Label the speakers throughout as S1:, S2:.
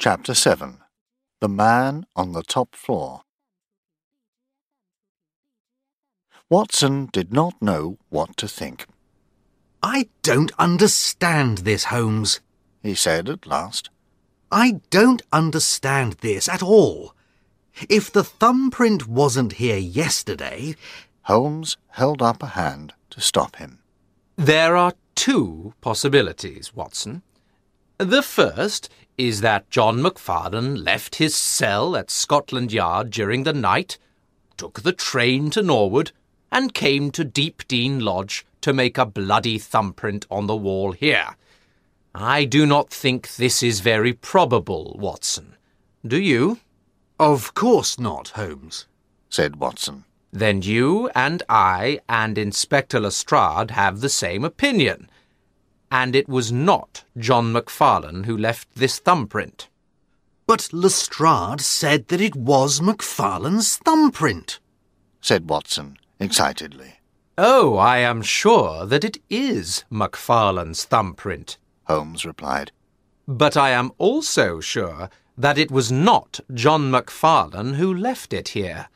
S1: Chapter 7. The Man on the Top Floor. Watson did not know what to think.
S2: "I don't understand this, Holmes,"
S1: he said at last.
S2: "I don't understand this at all. If the thumbprint wasn't here yesterday—"
S1: Holmes held up a hand to stop him.
S3: There are two possibilities, Watson. The first is that John Macfarlane left his cell at Scotland Yard during the night, took the train to Norwood, and came to Deepdene Lodge to make a bloody thumbprint on the wall here. I do not think this is very probable, Watson. Do you?
S2: "Of course not, Holmes,"
S1: said Watson.
S3: Then you and I and Inspector Lestrade have the same opinion, and it was not John Macfarlane who left this thumbprint.
S2: "But Lestrade said that it was Macfarlane's thumbprint,"
S1: said Watson excitedly.
S3: Oh, I am sure that it is Macfarlane's thumbprint,
S1: Holmes replied.
S3: But I am also sure that it was not John Macfarlane who left it here.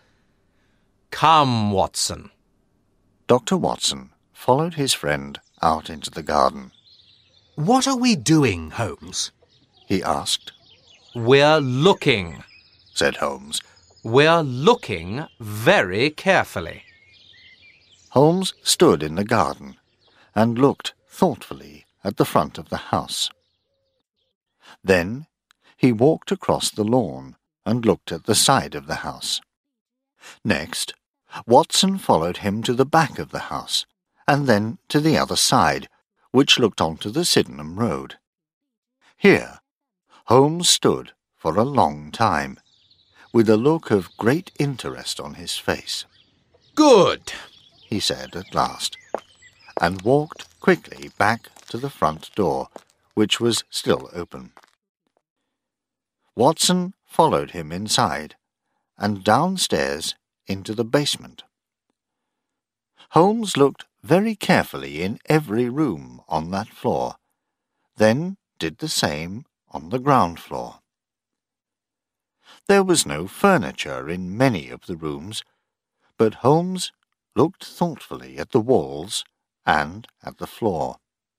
S3: Come, Watson.
S1: Dr. Watson followed his friend out into the garden.
S2: "What are we doing, Holmes?"
S1: he asked.
S3: We're looking,
S1: said Holmes.
S3: We're looking very carefully.
S1: Holmes stood in the garden and looked thoughtfully at the front of the house. Then he walked across the lawn and looked at the side of the house. Next, Watson followed him to the back of the house, and then to the other side, which looked onto the Sydenham Road. Here, Holmes stood for a long time, with a look of great interest on his face.
S3: Good,
S1: he said at last, and walked quickly back to the front door, which was still open. Watson followed him inside, and downstairs into the basement. Holmes looked very carefully in every room on that floor, then did the same on the ground floor. There was no furniture in many of the rooms, but Holmes looked thoughtfully at the walls and at the floor.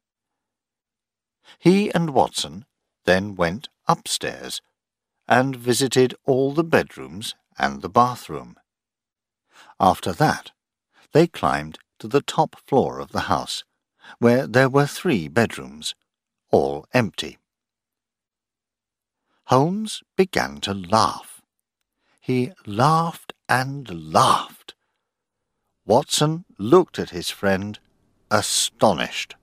S1: He and Watson then went upstairs and visited all the bedrooms and the bathroom. After that, they climbed to the top floor of the house, where there were 3 bedrooms, all empty. Holmes began to laugh. He laughed and laughed. Watson looked at his friend, astonished.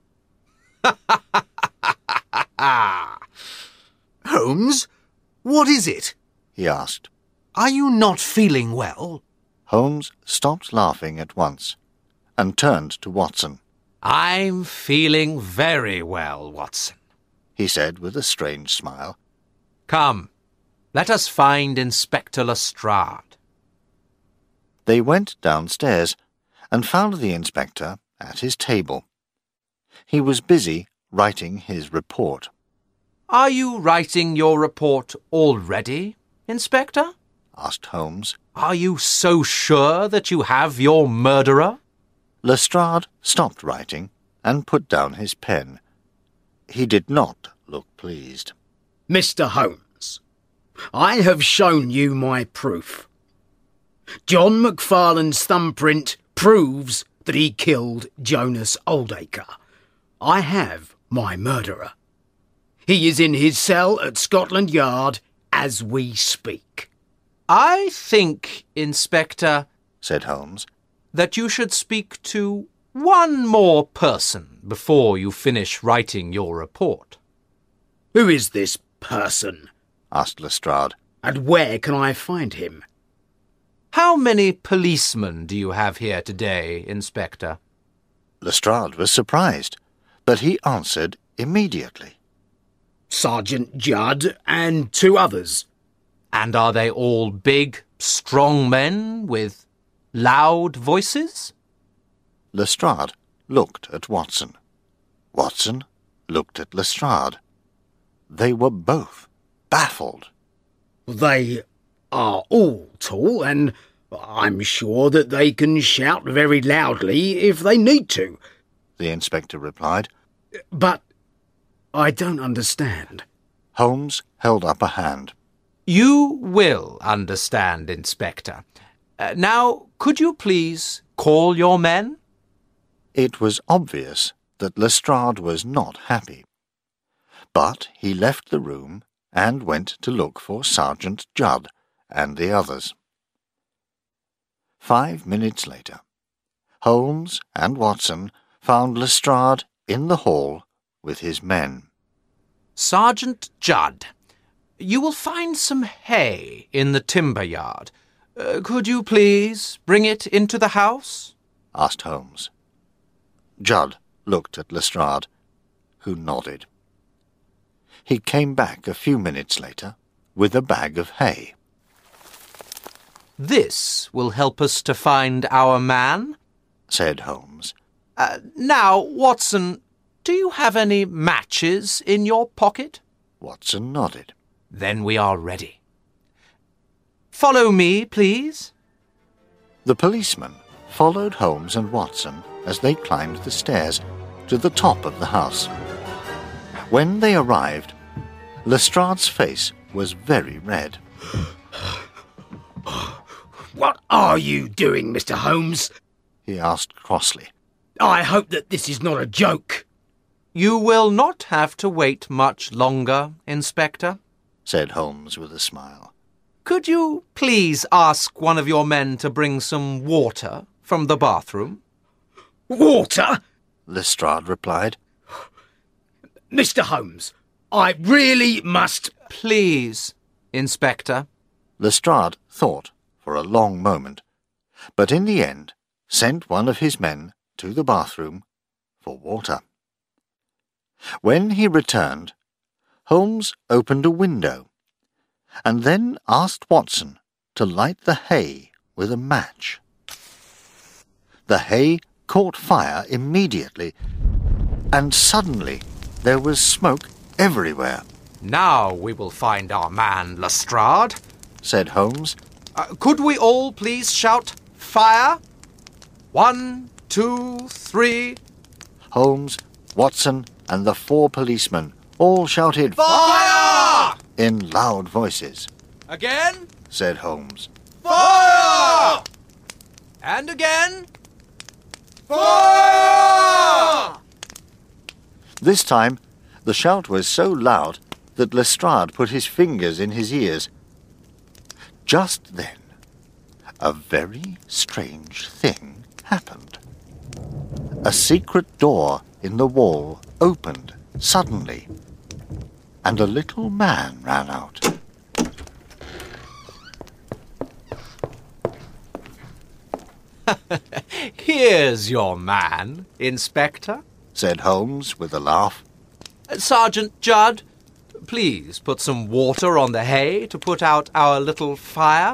S2: "Holmes, what is it?"
S1: he asked.
S2: "Are you not feeling well?"
S1: Holmes stopped laughing at once and turned to Watson.
S3: I'm feeling very well, Watson,
S1: he said with a strange smile.
S3: Come, let us find Inspector Lestrade.
S1: They went downstairs and found the inspector at his table. He was busy writing his report.
S3: Are you writing your report already, Inspector?
S1: asked Holmes.
S3: Are you so sure that you have your murderer?
S1: Lestrade stopped writing and put down his pen. He did not look pleased.
S4: Mr. Holmes, I have shown you my proof. John Macfarlane's thumbprint proves that he killed Jonas Oldacre. I have my murderer. He is in his cell at Scotland Yard as we speak.
S3: I think, Inspector,
S1: said Holmes,
S3: that you should speak to one more person before you finish writing your report.
S4: Who is this person?
S1: asked Lestrade.
S4: And where can I find him?
S3: How many policemen do you have here today, Inspector?
S1: Lestrade was surprised, but he answered immediately.
S4: Sergeant Judd and 2 others.
S3: And are they all big, strong men with loud voices?
S1: Lestrade looked at Watson. Watson looked at Lestrade. They were both baffled.
S4: They are all tall, and I'm sure that they can shout very loudly if they need to.
S1: The inspector replied.
S4: But I don't understand.
S1: Holmes held up a hand.
S3: You will understand, Inspector. Now, could you please call your men?
S1: It was obvious that Lestrade was not happy. But he left the room and went to look for Sergeant Judd and the others. 5 minutes later, Holmes and Watson found Lestrade in the hall with his men.
S3: Sergeant Judd, you will find some hay in the timber yard. Could you please bring it into the house?
S1: Asked Holmes. Judd looked at Lestrade, who nodded. He came back a few minutes later with a bag of hay.
S3: This will help us to find our man,
S1: said Holmes.
S3: Now, Watson, do you have any matches in your pocket?
S1: Watson nodded.
S3: Then we are ready. Follow me, please.
S1: The policeman followed Holmes and Watson as they climbed the stairs to the top of the house. When they arrived, Lestrade's face was very red.
S4: What are you doing, Mr. Holmes?
S1: He asked crossly.
S4: I hope that this is not a joke.
S3: You will not have to wait much longer, Inspector,
S1: said Holmes with a smile.
S3: Could you please ask one of your men to bring some water from the bathroom?
S4: Water?
S1: Lestrade replied.
S4: Mr. Holmes, I really must...
S3: Please, Inspector.
S1: Lestrade thought for a long moment, but in the end sent one of his men to the bathroom for water. When he returned, Holmes opened a window and then asked Watson to light the hay with a match. The hay caught fire immediately, and suddenly there was smoke everywhere.
S3: Now we will find our man, Lestrade,
S1: said Holmes.
S3: Could we all please shout, fire? 1, 2, 3...
S1: Holmes, Watson, and the 4 policemen all shouted,
S3: Fire!
S1: In loud voices.
S3: Again?
S1: Said Holmes.
S3: Fire! And again? Fire!
S1: This time, the shout was so loud that Lestrade put his fingers in his ears. Just then, a very strange thing happened. A secret door in the wall opened suddenly, and a little man ran out.
S3: Here's your man, Inspector,
S1: said Holmes with a laugh.
S3: Sergeant Judd, please put some water on the hay to put out our little fire.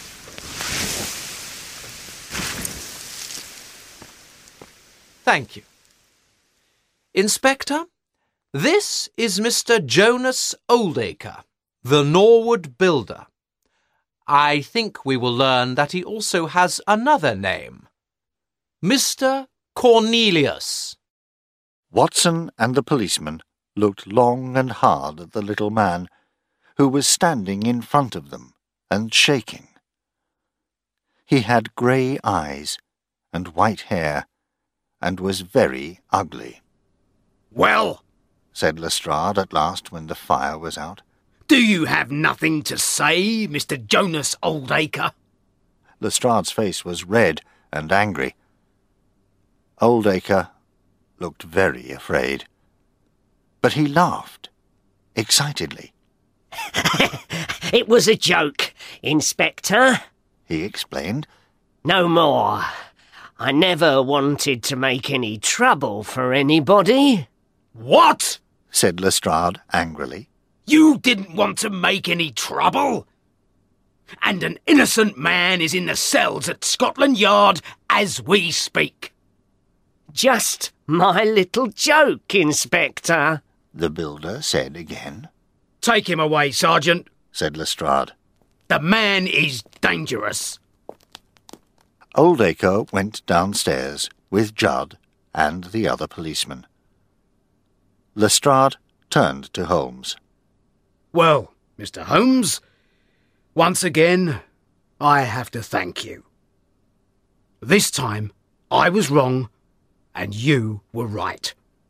S3: Thank you. Inspector, this is Mr. Jonas Oldacre, the Norwood builder. I think we will learn that he also has another name. Mr. Cornelius.
S1: Watson and the policeman looked long and hard at the little man, who was standing in front of them and shaking. He had grey eyes and white hair, and was very ugly.
S4: Well,
S1: said Lestrade at last when the fire was out.
S4: Do you have nothing to say, Mr. Jonas Oldacre?
S1: Lestrade's face was red and angry. Oldacre looked very afraid, but he laughed excitedly.
S5: It was a joke, Inspector,
S1: he explained.
S5: No more. I never wanted to make any trouble for anybody.
S4: What?
S1: Said Lestrade angrily.
S4: You didn't want to make any trouble? And an innocent man is in the cells at Scotland Yard as we speak.
S5: Just my little joke, Inspector,
S1: the builder said again.
S4: Take him away, Sergeant.
S1: said Lestrade.
S4: The man is dangerous.
S1: Oldacre went downstairs with Judd and the other policeman. Lestrade turned to Holmes.
S4: Well, Mr. Holmes, once again, I have to thank you. This time, I was wrong, and you were right.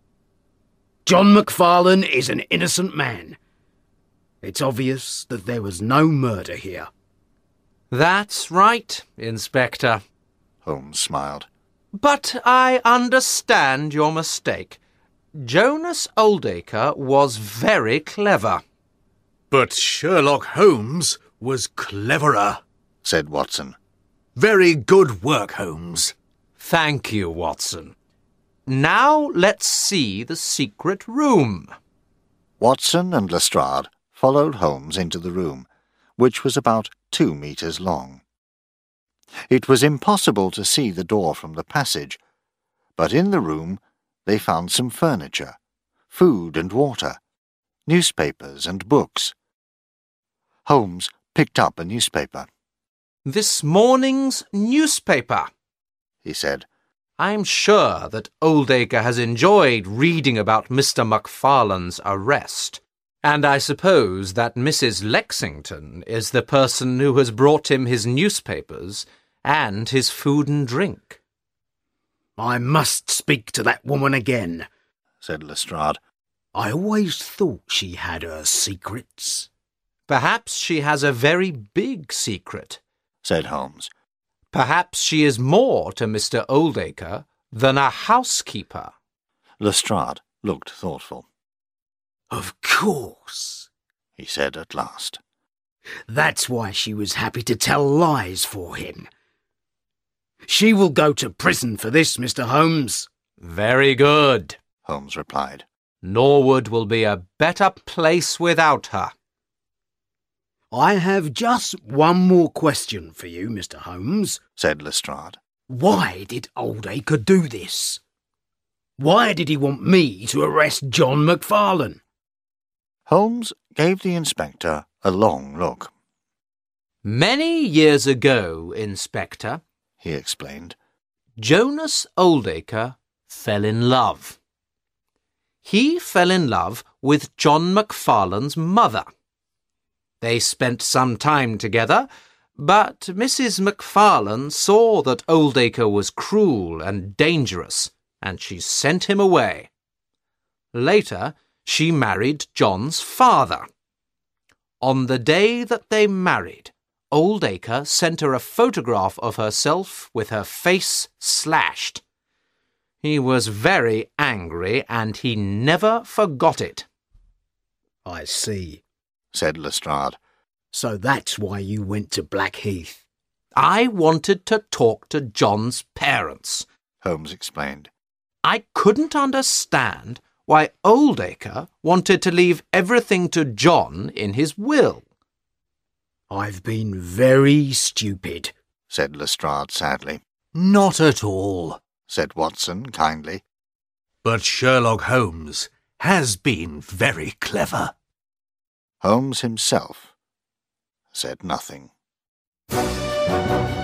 S4: John McFarlane is an innocent man. It's obvious that there was no murder here.
S3: That's right, Inspector.
S1: Holmes smiled.
S3: But I understand your mistake. Jonas Oldacre was very clever.
S6: But Sherlock Holmes was cleverer,
S1: said Watson.
S6: Very good work, Holmes.
S3: Thank you, Watson. Now let's see the secret room.
S1: Watson and Lestrade followed Holmes into the room, which was about 2 meters long. It was impossible to see the door from the passage, but in the room they found some furniture, food and water, newspapers and books. Holmes picked up a newspaper.
S3: This morning's newspaper,
S1: he said.
S3: I'm sure that Oldacre has enjoyed reading about Mr. McFarlane's arrest, and I suppose that Mrs. Lexington is the person who has brought him his newspapers and his food and drink.
S4: I must speak to that woman again,
S1: said Lestrade.
S4: I always thought she had her secrets.
S3: Perhaps she has a very big secret,
S1: said Holmes.
S3: Perhaps she is more to Mr. Oldacre than a housekeeper.
S1: Lestrade looked thoughtful.
S4: Of course,
S1: he said at last.
S4: That's why she was happy to tell lies for him. She will go to prison for this, Mr. Holmes.
S3: Very good,
S1: Holmes replied.
S3: Norwood will be a better place without her.
S4: I have just one more question for you, Mr. Holmes,
S1: said Lestrade.
S4: Why did Oldacre do this? Why did he want me to arrest John McFarlane?
S1: Holmes gave the inspector a long look.
S3: Many years ago, Inspector,
S1: he explained,
S3: Jonas Oldacre fell in love. He fell in love with John McFarlane's mother. They spent some time together, but Mrs. McFarlane saw that Oldacre was cruel and dangerous, and she sent him away. Later, she married John's father. On the day that they married, Oldacre sent her a photograph of herself with her face slashed. He was very angry, and he never forgot it.
S4: I see,
S1: said Lestrade.
S4: So that's why you went to Blackheath.
S3: I wanted to talk to John's parents,
S1: Holmes explained.
S3: I couldn't understand why Oldacre wanted to leave everything to John in his will.
S4: I've been very stupid,
S1: said Lestrade sadly.
S6: Not at all,
S1: said Watson kindly.
S6: But Sherlock Holmes has been very clever.
S1: Holmes himself said nothing.